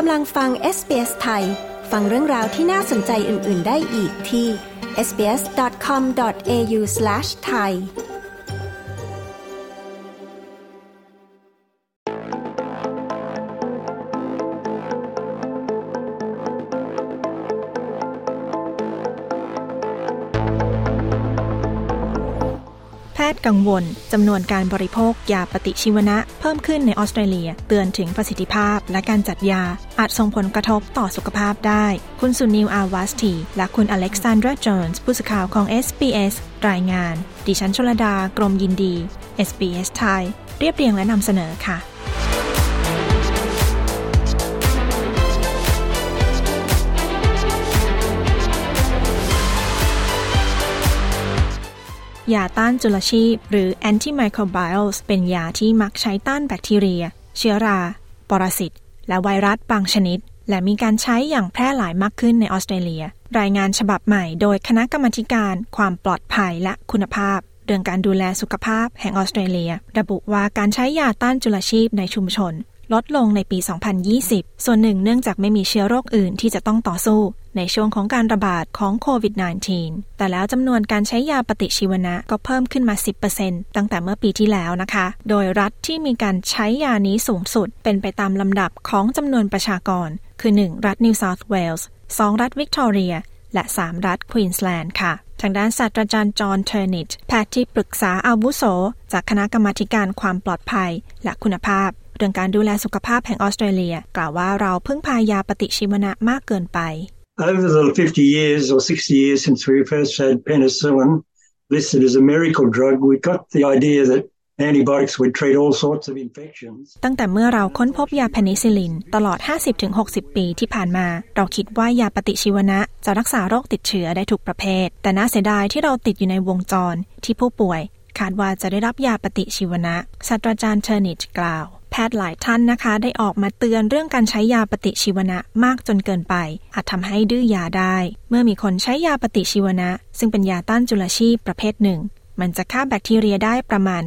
กำลังฟัง SBS ไทยฟังเรื่องราวที่น่าสนใจอื่นๆได้อีกที่ sbs.com.au/thaiแพทย์กังวลจำนวนการบริโภคยาปฏิชีวนะเพิ่มขึ้นในออสเตรเลียเตือนถึงประสิทธิภาพและการจัดยาอาจส่งผลกระทบต่อสุขภาพได้คุณสุนิล อาวาสตีและคุณอเล็กซานดรา โจนส์ผู้สื่อข่าวของ SBS รายงานดิฉันชลดากรมยินดี SBS ไทยเรียบเรียงและนำเสนอค่ะยาต้านจุลชีพหรือ Antimicrobials เป็นยาที่มักใช้ต้านแบคทีเรียเชื้อราปรสิตและไวรัสบางชนิดและมีการใช้อย่างแพร่หลายมากขึ้นในออสเตรเลียรายงานฉบับใหม่โดยคณะกรรมาการความปลอดภัยและคุณภาพเรื่องการดูแลสุขภาพแห่งออสเตรเลียระบุว่าการใช้ยาต้านจุลชีพในชุมชนลดลงในปี 2020 ส่วนหนึ่งเนื่องจากไม่มีเชื้อโรคอื่นที่จะต้องต่อสู้ในช่วงของการระบาดของโควิด -19 แต่แล้วจำนวนการใช้ยาปฏิชีวนะก็เพิ่มขึ้นมา 10% ตั้งแต่เมื่อปีที่แล้วนะคะโดยรัฐที่มีการใช้ยานี้สูงสุดเป็นไปตามลำดับของจำนวนประชากรคือ 1 รัฐนิวเซาท์เวลส์ 2 รัฐวิกตอเรียและ 3 รัฐควีนสแลนด์ค่ะทางด้านศาสตราจารย์จอห์น เทอร์นิชแพทย์ที่ปรึกษาอาวุโสจากคณะกรรมาการความปลอดภัยและคุณภาพเรื่องการดูแลสุขภาพแห่งออสเตรเลียกล่าวว่าเราพึ่งพายาปฏิชีวนะมากเกินไป Over the 50 years or 60 years since we first had penicillin listed as a miracle drug, we got the idea that antibiotics would treat all sorts of infections. ตั้งแต่เมื่อเราค้นพบยาเพนิซิลลินตลอด 50-60 ปีที่ผ่านมาเราคิดว่ายาปฏิชีวนะจะรักษาโรคติดเชื้อได้ทุกประเภทแต่น่าเสียดายที่เราติดอยู่ในวงจรที่ผู้ป่วยคาดว่าจะได้รับยาปฏิชีวนะศาสตราจารย์เทอร์นิชกล่าวแพทย์หลายท่านนะคะได้ออกมาเตือนเรื่องการใช้ยาปฏิชีวนะมากจนเกินไปอาจทำให้ดื้อยาได้เมื่อมีคนใช้ยาปฏิชีวนะซึ่งเป็นยาต้านจุลชีพประเภทหนึ่งมันจะฆ่าแบคทีเรียได้ประมาณ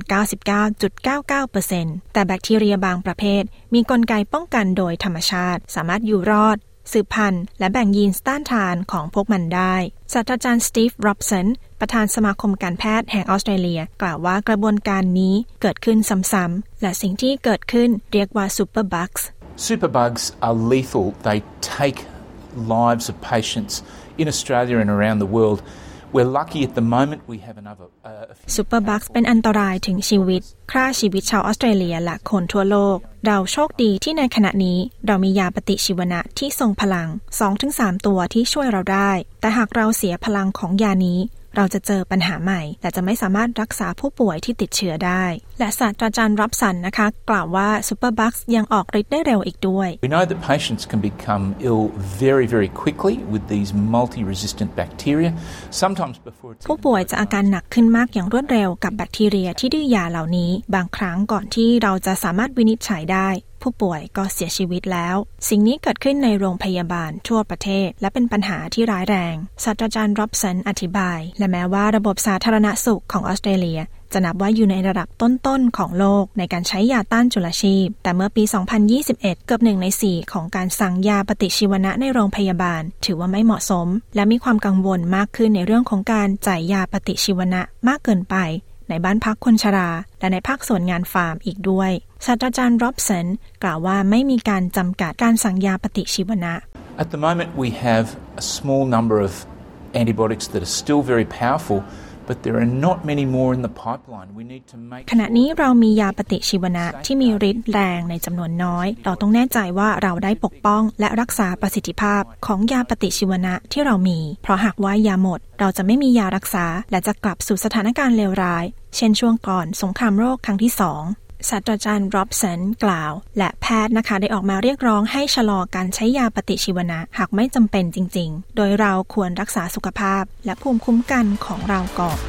99.99% แต่แบคทีเรียบางประเภทมีกลไกป้องกันโดยธรรมชาติสามารถอยู่รอดสืบพันธุ์และแบ่งยีนต้านทานของพวกมันได้ศาสตราจารย์สตีฟ ร็อบสันประธานสมาคมการแพทย์แห่งออสเตรเลียกล่าวว่ากระบวนการนี้เกิดขึ้นซ้ำๆและสิ่งที่เกิดขึ้นเรียกว่า superbugs Superbugs are lethal. They take lives of patients in Australia and around the world.We're lucky at the moment we have another Superbugs เป็นอันตรายถึงชีวิตฆ่าชีวิตชาวออสเตรเลียและคนทั่วโลกเราโชคดีที่ในขณะนี้เรามียาปฏิชีวนะที่ทรงพลัง 2-3 ตัวที่ช่วยเราได้แต่หากเราเสียพลังของยานี้เราจะเจอปัญหาใหม่และจะไม่สามารถรักษาผู้ป่วยที่ติดเชื้อได้และศาสตราจารย์ร็อบสันนะคะกล่าวว่า Superbugs ยังออกฤทธิ์ได้เร็วอีกด้วย We know that patients can become ill very, very quickly with these multi-resistant bacteria. Sometimes before ผู้ป่วยจะอาการหนักขึ้นมากอย่างรวดเร็วกับแบคทีเรียที่ดื้อยาเหล่านี้บางครั้งก่อนที่เราจะสามารถวินิจฉัยได้ผู้ป่วยก็เสียชีวิตแล้วสิ่งนี้เกิดขึ้นในโรงพยาบาลทั่วประเทศและเป็นปัญหาที่ร้ายแรงศาสตราจารย์ร็อบสันอธิบายและแม้ว่าระบบสาธารณสุขของออสเตรเลียจะนับว่าอยู่ในระดับต้นๆของโลกในการใช้ยาต้านจุลชีพแต่เมื่อปี 2021 เกือบ1 ใน 4ของการสั่งยาปฏิชีวนะในโรงพยาบาลถือว่าไม่เหมาะสมและมีความกังวลมากขึ้นในเรื่องของการจ่ายยาปฏิชีวนะมากเกินไปในบ้านพักคนชราและในภาคส่วนงานฟาร์มอีกด้วยศาสตราจารย์ร็อบสันกล่าวว่าไม่มีการจำกัดการสั่งยาปฏิชีวนะ At the moment we have a small number of antibiotics that are still very powerful but there are not many more in the pipeline. We need to make ขณะนี้เรามียาปฏิชีวนะที่มีฤทธิ์แรงในจำนวนน้อยเราต้องแน่ใจว่าเราได้ปกป้องและรักษาประสิทธิภาพของยาปฏิชีวนะที่เรามีเพราะหากว่ายาหมดเราจะไม่มียารักษาและจะกลับสู่สถานการณ์เลวร้ายเช่นช่วงก่อนสงครามโรคครั้งที่ 2ศาสตราจารย์ร็อบสันกล่าวและแพทย์นะคะได้ออกมาเรียกร้องให้ชะลอการใช้ยาปฏิชีวนะหากไม่จำเป็นจริงๆโดยเราควรรักษาสุขภาพและภูมิคุ้มกันของเราก่อน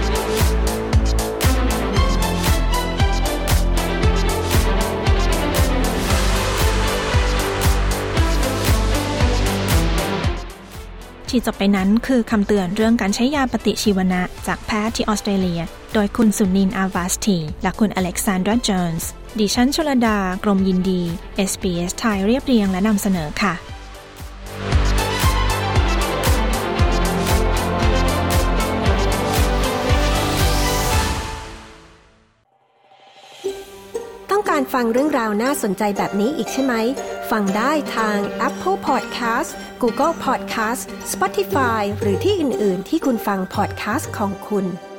ที่จบไปนั้นคือคำเตือนเรื่องการใช้ยาปฏิชีวนะจากแพทย์ที่ออสเตรเลียโดยคุณสุนิล อาวาสตีและคุณอเล็กซานดรา โจนส์ดิฉันชลดากรมยินดี SBS ไทยเรียบเรียงและนำเสนอค่ะต้องการฟังเรื่องราวน่าสนใจแบบนี้อีกใช่ไหมฟังได้ทาง Apple Podcast Google Podcast Spotify หรือที่อื่นๆที่คุณฟัง podcast ของคุณ